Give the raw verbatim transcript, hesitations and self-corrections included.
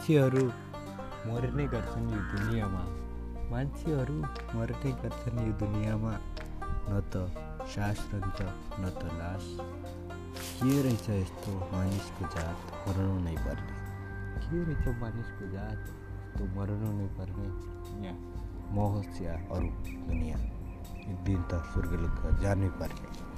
मान्छेहरू मर्ने गर्छन् यो दुनियाँमा मान्छेहरू मर्ने गर्छन् यो दुनियाँमा न त सास रहन्छ न त लास। के रहेछ यस्तो मानिसको जात मर्नु नै पर्ने, के रहेछ मानिसको जात यस्तो मर्नु नै पर्ने। यहाँ म होस् या अरू दुनियाँ, एक दिन त स्वर्गलोक जानै पर्ने।